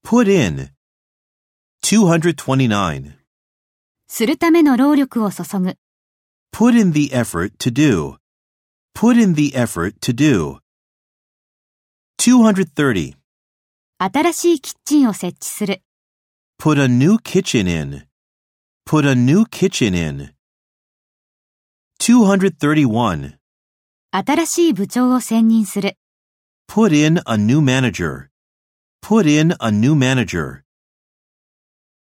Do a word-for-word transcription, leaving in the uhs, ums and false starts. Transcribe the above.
Put in. two hundred twenty-nine. するための労力を注ぐ。 Put in the effort to do. Put in the effort to do. two hundred thirty. 新しいキッチンを設置する。 Put a new kitchen in. Put a new kitchen in. two hundred thirty-one. 新しい部長を選任する。 Put in a new manager. Put in a new manager.